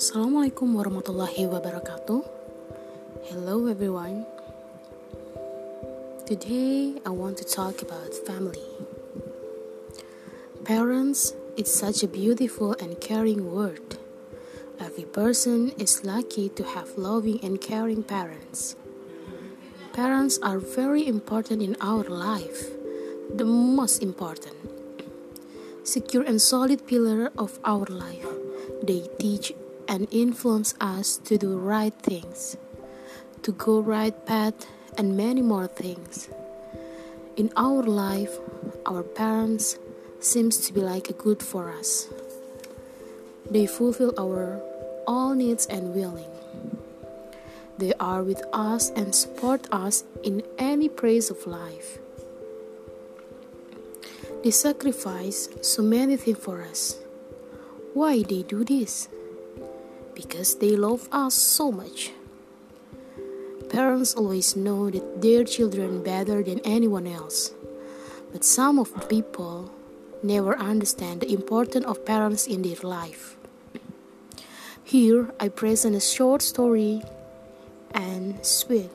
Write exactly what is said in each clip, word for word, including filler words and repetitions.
Assalamualaikum warahmatullahi wabarakatuh. Hello everyone. Today I want to talk about family. Parents is such a beautiful and caring word. Every person is lucky to have loving and caring parents. Parents are very important in our life, the most important. Secure and solid pillar of our life. They teach and influence us to do right things, to go right path, and many more things. In our life, our parents seems to be like a good for us. They fulfill our all needs and willing. They are with us and support us in any phase of life. They sacrifice so many things for us. Why they do this? Because they love us so much. Parents always know that their children better than anyone else. But some of the people never understand the importance of parents in their life. Here I present a short story and sweet.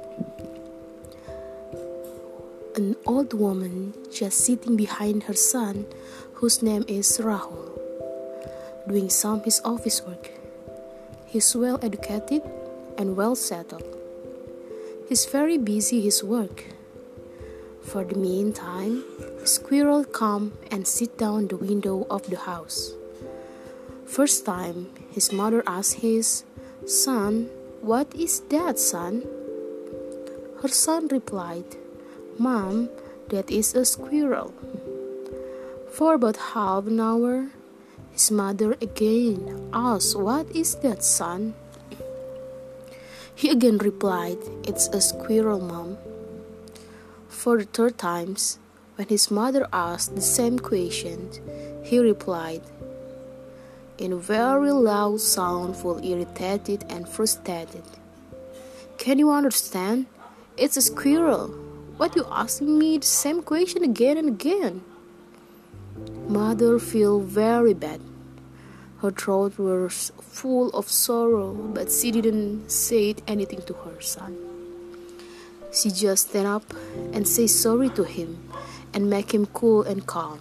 An old woman just sitting behind her son, whose name is Rahul, doing some his office work. He's well educated and well settled. He's very busy his work. For the meantime, a squirrel come and sit down the window of the house. First time, his mother asked his son, "What is that, son?" Her son replied, "Mom, that is a squirrel." For about half an hour, his mother again asked, "What is that, son?" He again replied, "It's a squirrel, Mom." For the third time, when his mother asked the same question, he replied in a very loud sound, full irritated and frustrated, "Can you understand? It's a squirrel. What you asking me the same question again and again?" Mother felt very bad. Her throat was full of sorrow, but she didn't say anything to her son. She just stand up and say sorry to him and make him cool and calm.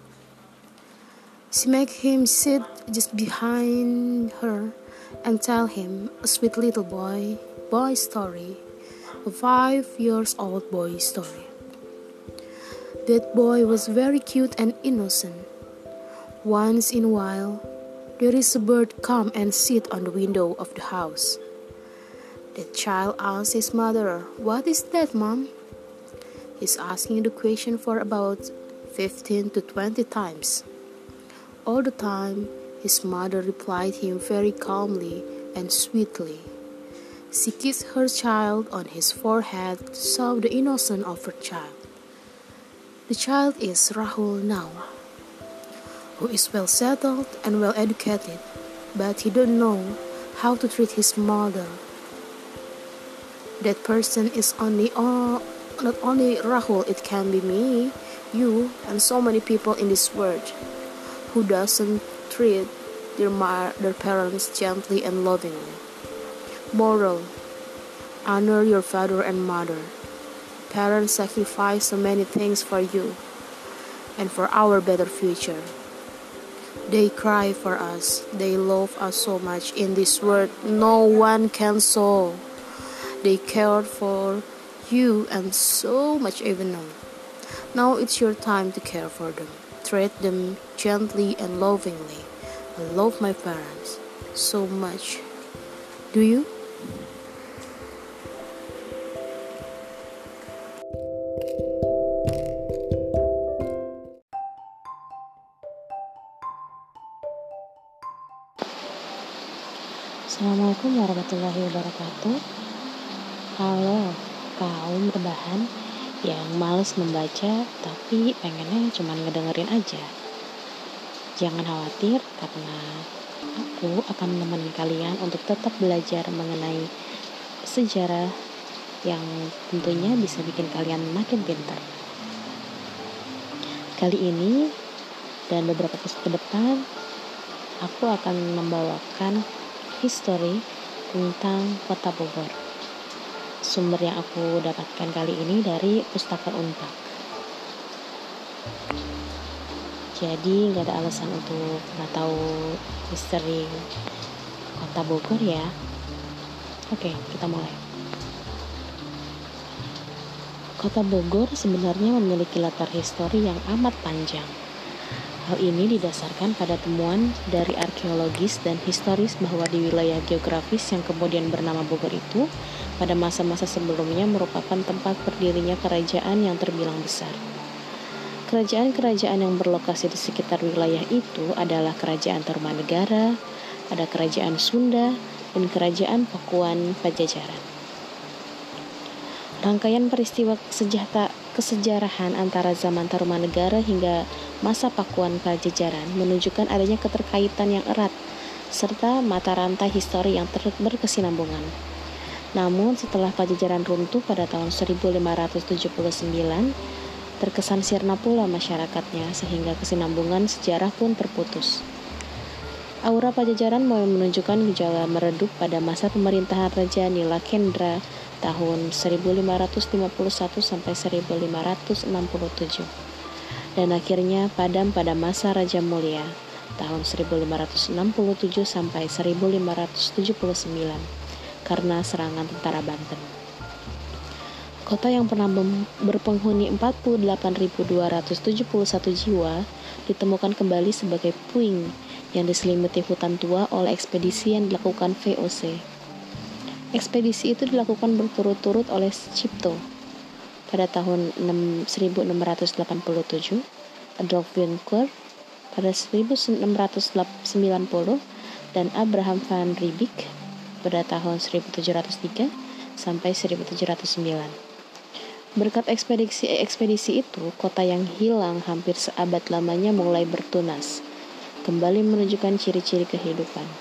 She make him sit just behind her and tell him a sweet little boy boy story, a five years old boy story. That boy was very cute and innocent. Once in a while, there is a bird come and sit on the window of the house. The child asks his mother, "What is that, Mom?" He's asking the question for about fifteen to twenty times. All the time, his mother replied him very calmly and sweetly. She kissed her child on his forehead to show the innocence of her child. The child is Rahul now, who is well settled and well educated, but he don't know how to treat his mother. That person is only uh, not only Rahul, it can be me, you, and so many people in this world who doesn't treat their, ma- their parents gently and lovingly. Moral: honor your father and mother. Parents sacrifice so many things for you and for our better future. They cry for us. They love us so much in this world no one can solve. They cared for you and so much even now. Now it's your time to care for them. Treat them gently and lovingly. I love my parents so much. Do you? Assalamualaikum warahmatullahi wabarakatuh. Halo kaum rebahan yang males membaca tapi pengennya cuma ngedengerin aja. Jangan khawatir karena aku akan menemani kalian untuk tetap belajar mengenai sejarah yang tentunya bisa bikin kalian makin pintar. Kali ini dan beberapa episode ke depan aku akan membawakan History tentang Kota Bogor. Sumber yang aku dapatkan kali ini dari Pustaka Unpad. Jadi nggak ada alasan untuk nggak tahu history Kota Bogor ya. Oke, kita mulai. Kota Bogor sebenarnya memiliki latar histori yang amat panjang. Hal ini didasarkan pada temuan dari arkeologis dan historis bahwa di wilayah geografis yang kemudian bernama Bogor itu, pada masa-masa sebelumnya merupakan tempat berdirinya kerajaan yang terbilang besar. Kerajaan-kerajaan yang berlokasi di sekitar wilayah itu adalah Kerajaan Tarumanegara, ada Kerajaan Sunda, dan Kerajaan Pakuan Pajajaran. Rangkaian peristiwa sejata kesejarahan antara zaman Tarumanegara hingga masa Pakuan Pajajaran menunjukkan adanya keterkaitan yang erat serta mata rantai histori yang ter- berkesinambungan. Namun setelah Pajajaran runtuh pada tahun seribu lima ratus tujuh puluh sembilan, terkesan sirna pula masyarakatnya sehingga kesinambungan sejarah pun terputus. Aura Pajajaran mulai menunjukkan gejala meredup pada masa pemerintahan Raja Nilakendra tahun seribu lima ratus lima puluh satu sampai seribu lima ratus enam puluh tujuh dan akhirnya padam pada masa Raja Mulia tahun seribu lima ratus enam puluh tujuh sampai seribu lima ratus tujuh puluh sembilan karena serangan tentara Banten. Kota yang pernah berpenghuni empat puluh delapan ribu dua ratus tujuh puluh satu jiwa ditemukan kembali sebagai puing yang diselimuti hutan tua oleh ekspedisi yang dilakukan V O C. Ekspedisi itu dilakukan berturut-turut oleh Cipto pada tahun seribu enam ratus delapan puluh tujuh, Adolf Winckler pada seribu enam ratus sembilan puluh, dan Abraham van Riebeeck pada tahun seribu tujuh ratus tiga sampai seribu tujuh ratus sembilan. Berkat ekspedisi-ekspedisi itu, kota yang hilang hampir seabad lamanya mulai bertunas, kembali menunjukkan ciri-ciri kehidupan.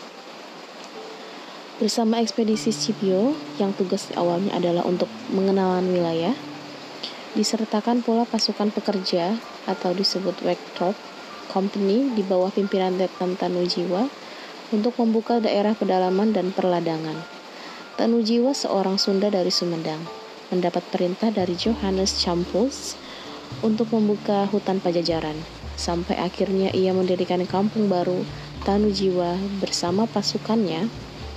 Bersama ekspedisi Scipio yang tugas awalnya adalah untuk mengenalan wilayah, disertakan pula pasukan pekerja atau disebut Werktrop Company di bawah pimpinan Letnan Tanujiwa untuk membuka daerah pedalaman dan perladangan. Tanujiwa seorang Sunda dari Sumedang mendapat perintah dari Johannes Campus untuk membuka hutan Pajajaran, sampai akhirnya ia mendirikan kampung baru Tanujiwa bersama pasukannya,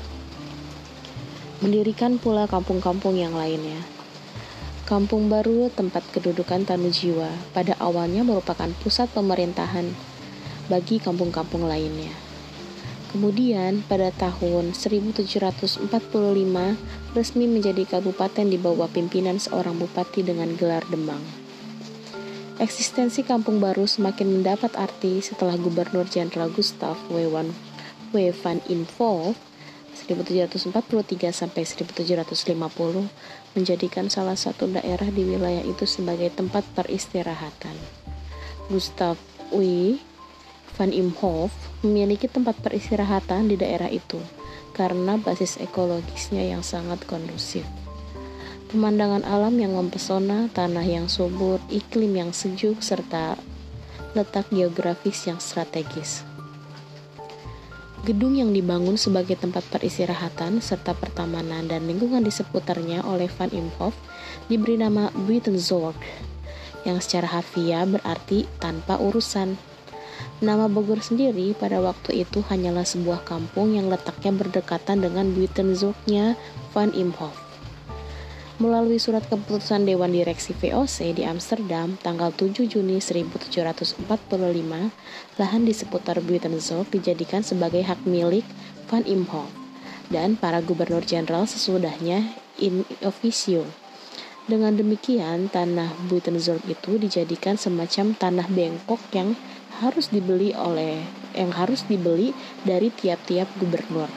mendirikan pula kampung-kampung yang lainnya. Kampung baru tempat kedudukan Tanujiwa pada awalnya merupakan pusat pemerintahan bagi kampung-kampung lainnya. Kemudian pada tahun seribu tujuh ratus empat puluh lima resmi menjadi kabupaten di bawah pimpinan seorang bupati dengan gelar Demang. Eksistensi kampung baru semakin mendapat arti setelah Gubernur Jenderal Gustav W. van Imhoff seribu tujuh ratus empat puluh tiga sampai seribu tujuh ratus lima puluh menjadikan salah satu daerah di wilayah itu sebagai tempat peristirahatan. Gustav W. van Imhoff memiliki tempat peristirahatan di daerah itu karena basis ekologisnya yang sangat kondusif. Pemandangan alam yang mempesona, tanah yang subur, iklim yang sejuk, serta letak geografis yang strategis. Gedung yang dibangun sebagai tempat peristirahatan serta pertamanan dan lingkungan di seputarnya oleh Van Imhoff diberi nama Buitenzorg, yang secara harfiah berarti tanpa urusan. Nama Bogor sendiri pada waktu itu hanyalah sebuah kampung yang letaknya berdekatan dengan Buitenzorgnya Van Imhoff. Melalui surat keputusan Dewan Direksi V O C di Amsterdam tanggal tujuh Juni seribu tujuh ratus empat puluh lima, lahan di seputar Buitenzorg dijadikan sebagai hak milik Van Imhoff dan para gubernur jenderal sesudahnya in officio. Dengan demikian, tanah Buitenzorg itu dijadikan semacam tanah bengkok yang harus dibeli oleh yang harus dibeli dari tiap-tiap gubernur.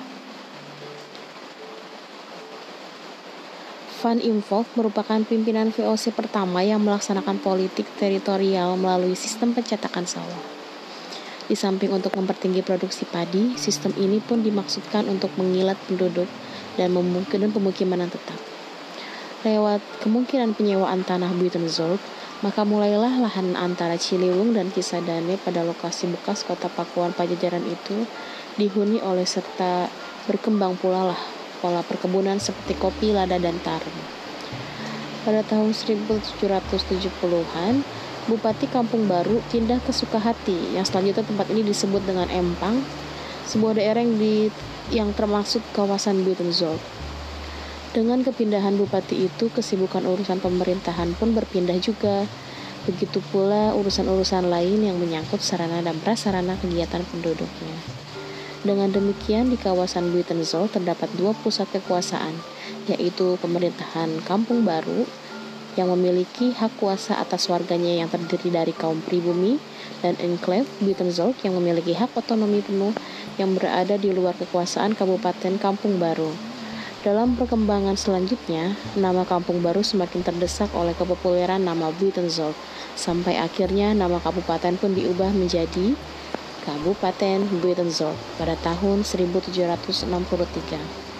Van Imhoff merupakan pimpinan V O C pertama yang melaksanakan politik teritorial melalui sistem pencetakan sawah. Di samping untuk mempertinggi produksi padi, sistem ini pun dimaksudkan untuk mengilat penduduk dan memungkinkan pemukiman yang tetap. Lewat kemungkinan penyewaan tanah Buitenzorg, maka mulailah lahan antara Ciliwung dan Cisadane pada lokasi bekas kota Pakuan Pajajaran itu dihuni oleh serta berkembang pula lah pola perkebunan seperti kopi, lada, dan tarum. Pada tahun seribu tujuh ratus tujuh puluhan, Bupati Kampung Baru pindah ke Sukahati, yang selanjutnya tempat ini disebut dengan Empang, sebuah daerah yang, di, yang termasuk kawasan Buitenzorg. Dengan kepindahan bupati itu, kesibukan urusan pemerintahan pun berpindah juga. Begitu pula urusan-urusan lain yang menyangkut sarana dan prasarana kegiatan penduduknya. Dengan demikian, di kawasan Buitenzorg terdapat dua pusat kekuasaan, yaitu pemerintahan Kampung Baru yang memiliki hak kuasa atas warganya yang terdiri dari kaum pribumi, dan Enclave Buitenzorg yang memiliki hak otonomi penuh yang berada di luar kekuasaan Kabupaten Kampung Baru. Dalam perkembangan selanjutnya, nama Kampung Baru semakin terdesak oleh kepopuleran nama Buitenzorg, sampai akhirnya nama kabupaten pun diubah menjadi Kabupaten Buitenzorg pada tahun seribu tujuh ratus enam puluh tiga.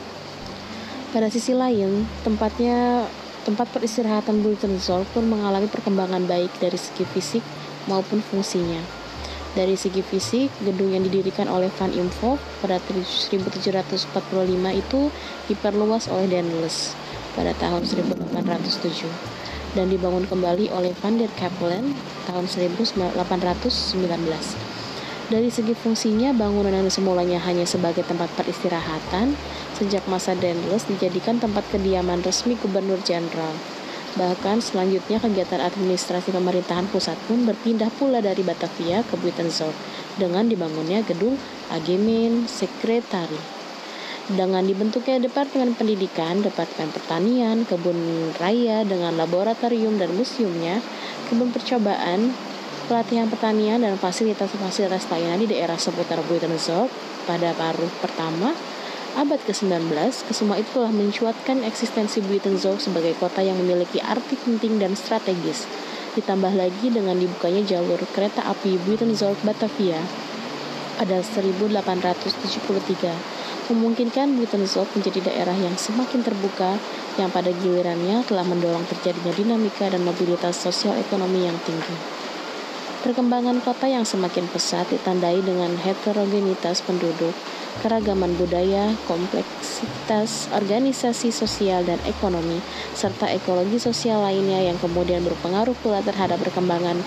Pada sisi lain, tempatnya tempat peristirahatan Buitenzorg pun mengalami perkembangan baik dari segi fisik maupun fungsinya. Dari segi fisik, gedung yang didirikan oleh Van Imhoff pada seribu tujuh ratus empat puluh lima itu diperluas oleh Daendels pada tahun seribu delapan ratus tujuh dan dibangun kembali oleh Van der Capellen tahun seribu delapan ratus sembilan belas. Dari segi fungsinya, bangunan yang semulanya hanya sebagai tempat peristirahatan, sejak masa Daendels dijadikan tempat kediaman resmi Gubernur Jenderal. Bahkan selanjutnya kegiatan administrasi pemerintahan pusat pun berpindah pula dari Batavia ke Buitenzorg dengan dibangunnya gedung Algemeen Sekretari. Dengan dibentuknya Departemen Pendidikan, Departemen Pertanian, Kebun Raya dengan laboratorium dan museumnya, kebun percobaan, pelatihan pertanian, dan fasilitas-fasilitas lainnya di daerah seputar Buitenzorg pada paruh pertama abad ke sembilan belas, kesemua itu telah mencuatkan eksistensi Buitenzorg sebagai kota yang memiliki arti penting dan strategis. Ditambah lagi dengan dibukanya jalur kereta api Buitenzorg-Batavia pada seribu delapan ratus tujuh puluh tiga, memungkinkan Buitenzorg menjadi daerah yang semakin terbuka, yang pada gilirannya telah mendorong terjadinya dinamika dan mobilitas sosial ekonomi yang tinggi. Perkembangan kota yang semakin pesat ditandai dengan heterogenitas penduduk, keragaman budaya, kompleksitas organisasi sosial dan ekonomi, serta ekologi sosial lainnya yang kemudian berpengaruh pula terhadap perkembangan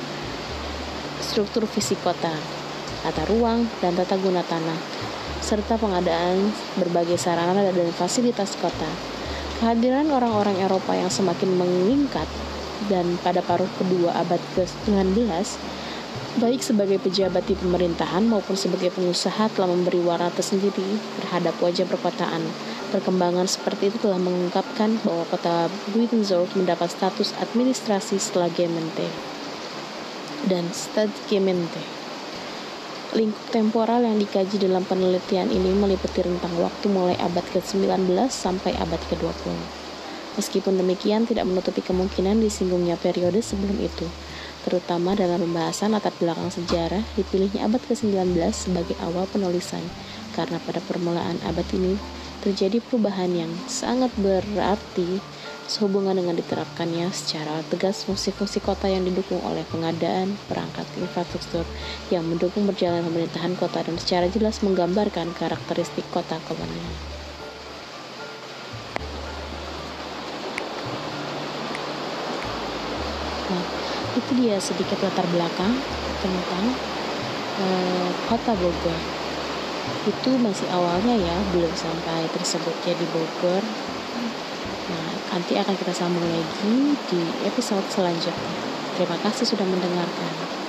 struktur fisik kota, tata ruang, dan tata guna tanah, serta pengadaan berbagai sarana dan fasilitas kota. Kehadiran orang-orang Eropa yang semakin meningkat dan pada paruh kedua abad ke sembilan belas, baik sebagai pejabat di pemerintahan maupun sebagai pengusaha, telah memberi warna tersendiri terhadap wajah perkotaan. Perkembangan seperti itu telah mengungkapkan bahwa kota Buitenzorg mendapat status administrasi setelah Gemeente dan Stadtgemeente. Lingkup temporal yang dikaji dalam penelitian ini meliputi rentang waktu mulai abad ke sembilan belas sampai abad ke dua puluh. Meskipun demikian, tidak menutupi kemungkinan disinggungnya periode sebelum itu. Terutama dalam pembahasan latar belakang sejarah, dipilihnya abad ke sembilan belas sebagai awal penulisan, karena pada permulaan abad ini terjadi perubahan yang sangat berarti sehubungan dengan diterapkannya secara tegas fungsi-fungsi kota yang didukung oleh pengadaan perangkat infrastruktur yang mendukung berjalan pemerintahan kota dan secara jelas menggambarkan karakteristik kota kolonial. Nah, itu dia sedikit latar belakang tentang uh, kota Bogor. Itu masih awalnya ya, belum sampai tersebut jadi Bogor. Nah, nanti akan kita sambung lagi di episode selanjutnya. Terima kasih sudah mendengarkan.